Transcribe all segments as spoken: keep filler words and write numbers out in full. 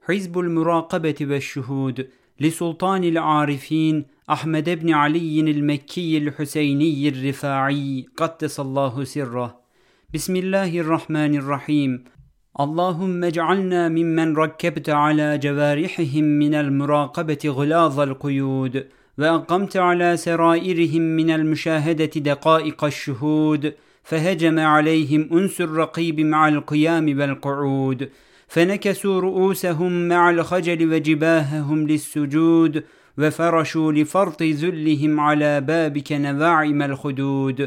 حزب المراقبة والشهود لسلطان العارفين أحمد بن علي المكي الحسيني الرفاعي قدس الله سره. بسم الله الرحمن الرحيم. اللهم اجعلنا ممن ركبت على جوارحهم من المراقبة غلاظ القيود، وأقمت على سرائرهم من المشاهدة دقائق الشهود، فهجم عليهم أنس الرقيب مع القيام والقعود، فنكسوا رؤوسهم مع الخجل وجباههم للسجود، وفرشوا لفرط ذلهم على بابك نواعم الخدود،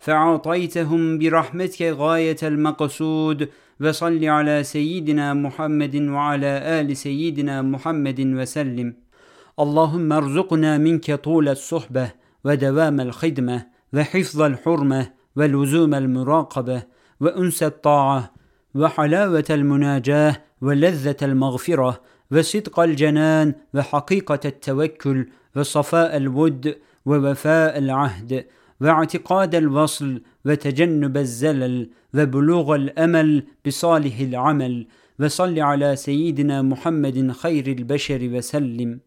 فعطيتهم برحمتك غاية المقصود. وصل على سيدنا محمد وعلى آل سيدنا محمد وسلم. اللهم ارزقنا منك طول الصحبة ودوام الخدمة وحفظ الحرمة ولزوم المراقبة وأنس الطاعة وحلاوة المناجاة ولذة المغفرة وصدق الجنان وحقيقة التوكل وصفاء الود ووفاء العهد واعتقاد الوصل وتجنب الزلل وبلوغ الأمل بصالح العمل. وصل على سيدنا محمد خير البشر وسلم.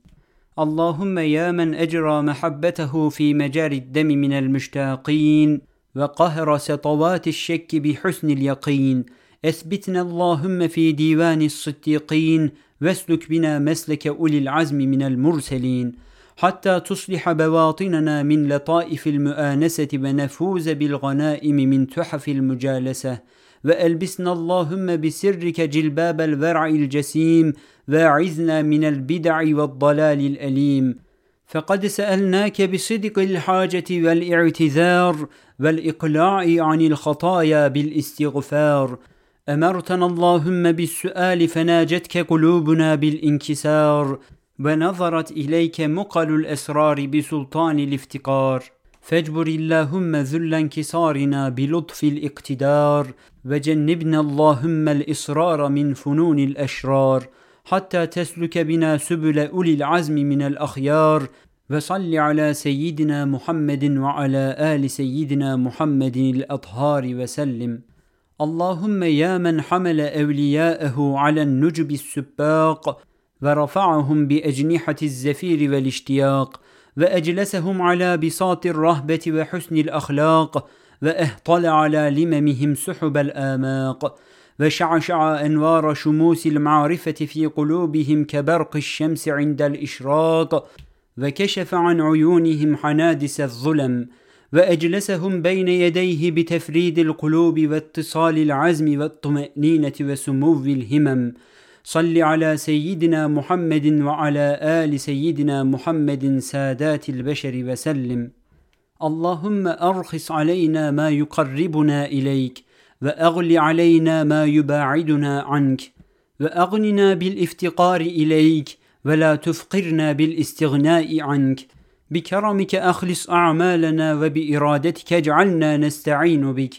اللهم يا من أجرى محبته في مجاري الدم من المشتاقين وقهر سطوات الشك بحسن اليقين، اثبتنا اللهم في ديوان الصديقين، واسلك بنا مسلك أولي العزم من المرسلين، حتى تصلح بواطننا من لطائف المؤانسة ونفوز بالغنائم من تحف المجالسة، وألبسنا اللهم بسرك جلباب الورع الجسيم، واعذنا من البدع والضلال الأليم. فقد سألناك بصدق الحاجة والاعتذار والإقلاع عن الخطايا بالاستغفار، أمرتنا اللهم بالسؤال فناجتك قلوبنا بالانكسار، ونظرت إليك مقل الأسرار بسلطان الافتقار، فاجبر اللهم ذل انكسارنا بلطف الاقتدار، وجنبنا اللهم الإصرار من فنون الأشرار، حتى تسلك بنا سبل أولي العزم من الأخيار. وصل على سيدنا محمد وعلى آل سيدنا محمد الأطهار وسلم. اللهم يا من حمل أولياءه على النجب السباق ورفعهم بأجنحة الزفير والاشتياق، وأجلسهم على بساط الرهبة وحسن الأخلاق، وأهطل على لممهم سحب الآماق، وشعشع أنوار شموس المعرفة في قلوبهم كبرق الشمس عند الإشراق، وكشف عن عيونهم حنادس الظلم، وأجلسهم بين يديه بتفريد القلوب واتصال العزم والطمأنينة وسمو الهمم. صل على سيدنا محمد وعلى آل سيدنا محمد سادات البشر وسلم. اللهم أرخص علينا ما يقربنا إليك، وأغل علينا ما يباعدنا عنك، وأغننا بالافتقار إليك، ولا تفقرنا بالاستغناء عنك. بكرمك أخلص أعمالنا، وبإرادتك اجعلنا نستعين بك.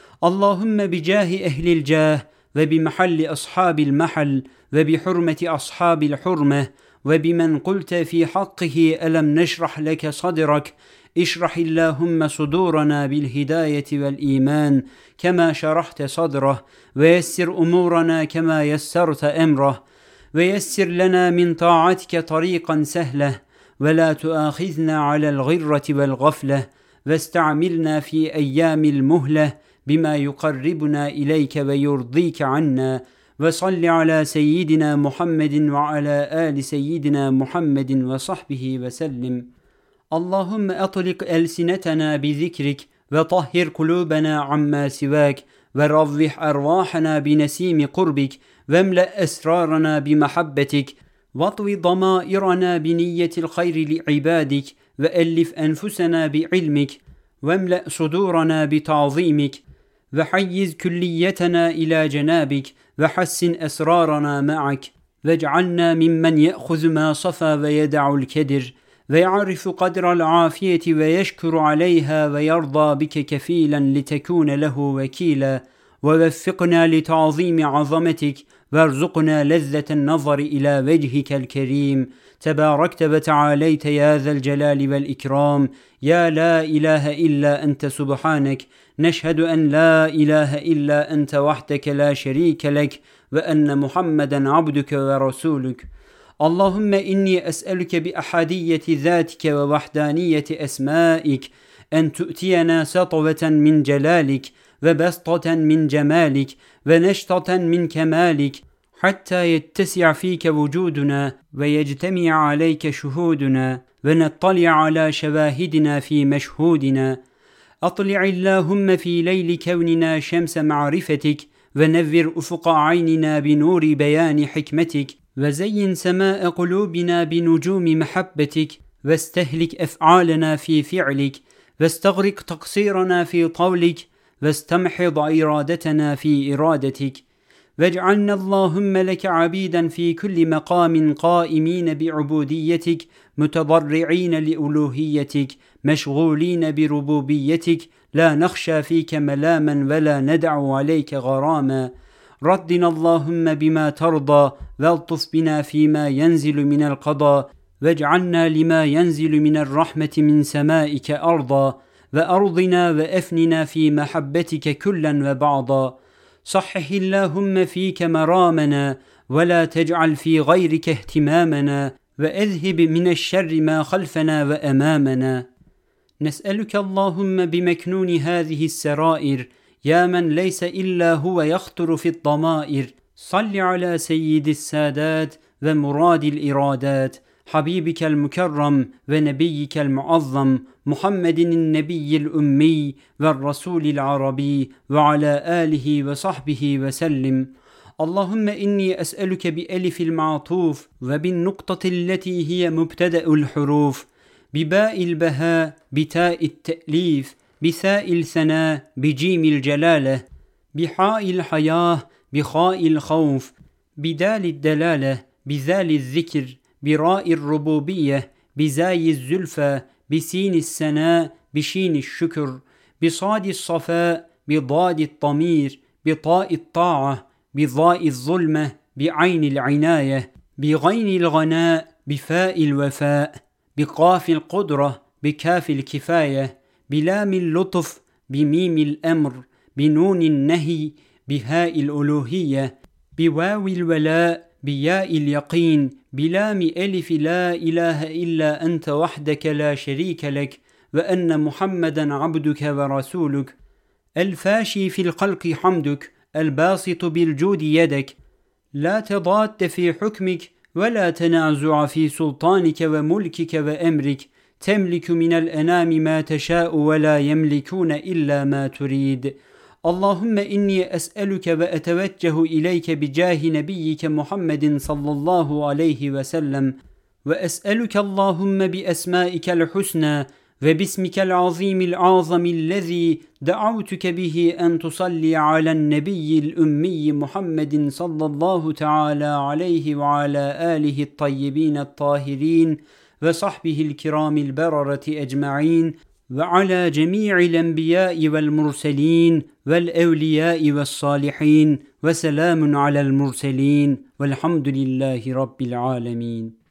اللهم بجاه أهل الجاه، وبمحل أصحاب المحل، وبحرمة أصحاب الحرمة، وبمن قلت في حقه ألم نشرح لك صدرك، اشرح اللهم صدورنا بالهداية والإيمان كما شرحت صدره، ويسر أمورنا كما يسرت أمره، ويسر لنا من طاعتك طريقا سهلة، ولا تؤاخذنا على الغرة والغفلة، واستعملنا في أيام المهلة بما يقربنا إليك ويرضيك عنا. وصل على سيدنا محمد وعلى آل سيدنا محمد وصحبه وسلم. اللهم أطلق ألسنتنا بذكرك، وطهر قلوبنا عما سواك، وروح أرواحنا بنسيم قربك، واملأ أسرارنا بمحبتك، واطوي ضمائرنا بنية الخير لعبادك، وألف أنفسنا بعلمك، واملأ صدورنا بتعظيمك، وحيز كليتنا إلى جنابك، وحسن أسرارنا معك، واجعلنا ممن يأخذ ما صفى ويدع الكدر، ويعرف قدر العافية ويشكر عليها، ويرضى بك كفيلا لتكون له وكيلا. ووفقنا لتعظيم عظمتك، وارزقنا لذة النظر إلى وجهك الكريم. تباركت وتعاليت يا ذا الجلال والإكرام، يا لا إله إلا أنت سبحانك، نشهد أن لا إله إلا أنت وحدك لا شريك لك وأن محمدا عبدك ورسولك. اللهم إني أسألك بأحدية ذاتك ووحدانية أسمائك أن تؤتينا سطوة من جلالك وبسطة من جمالك ونشطة من كمالك حتى يتسع فيك وجودنا ويجتمع عليك شهودنا ونطلع على شواهدنا في مشهودنا. أطلع اللهم في ليل كوننا شمس معرفتك ونور أفق عيننا بنور بيان حكمتك وزين سماء قلوبنا بنجوم محبتك واستهلك أفعالنا في فعلك واستغرق تقصيرنا في طولك واستمحض إرادتنا في إرادتك. واجعلنا اللهم لك عبيدا في كل مقام قائمين بعبوديتك متضرعين لألوهيتك مشغولين بربوبيتك لا نخشى فيك ملاما ولا ندع عليك غراما. ردنا اللهم بما ترضى والطف بنا فيما ينزل من القضاء واجعلنا لما ينزل من الرحمة من سمائك أرضا وأرضنا وأفننا في محبتك كلا وبعضا. صحح اللهم فيك مرامنا ولا تجعل في غيرك اهتمامنا وأذهب من الشر ما خلفنا وأمامنا. نسألك اللهم بمكنون هذه السرائر يا من ليس إلا هو يخطر في الضمائر صل على سيد السادات ومراد الإرادات حبيبك المكرم ونبيك المعظم محمد النبي الأمي والرسول العربي وعلى آله وصحبه وسلم. اللهم إني أسألك بألف المعطوف وبالنقطة التي هي مبتدأ الحروف بباء البهاء بتاء التأليف بثاء الثناء بجيم الجلالة بحاء الحياة بخاء الخوف بدال الدلالة بذال الذكر براء الربوبية بزاي الزلفى بسين السناء بشين الشكر بصاد الصفاء بضاد الضمير بطاء الطاعة بضاء الظلمة بعين العناية بغين الغناء بفاء الوفاء بقاف القدرة بكاف الكفاية بلام اللطف بميم الأمر بنون النهي بهاء الألوهية بواو الولاء بياء اليقين بلام ألف لا إله إلا أنت وحدك لا شريك لك وأن محمدا عبدك ورسولك. الفاشي في الخلق حمدك الباسط بالجود يدك لا تضاد في حكمك ولا تنازع في سلطانك وملكك وأمرك تملك من الأنام ما تشاء ولا يملكون إلا ما تريد. اللهم إني أسألك وأتوجه إليك بجاه نبيك محمد صلى الله عليه وسلم وأسألك اللهم بأسمائك الحسنى وباسمك العظيم العظم الذي دعوتك به أن تصلي على النبي الأمي محمد صلى الله تعالى عليه وعلى آله الطيبين الطاهرين وصحبه الكرام البررة أجمعين وعلى جميع الأنبياء والمرسلين والأولياء والصالحين وسلام على المرسلين والحمد لله رب العالمين.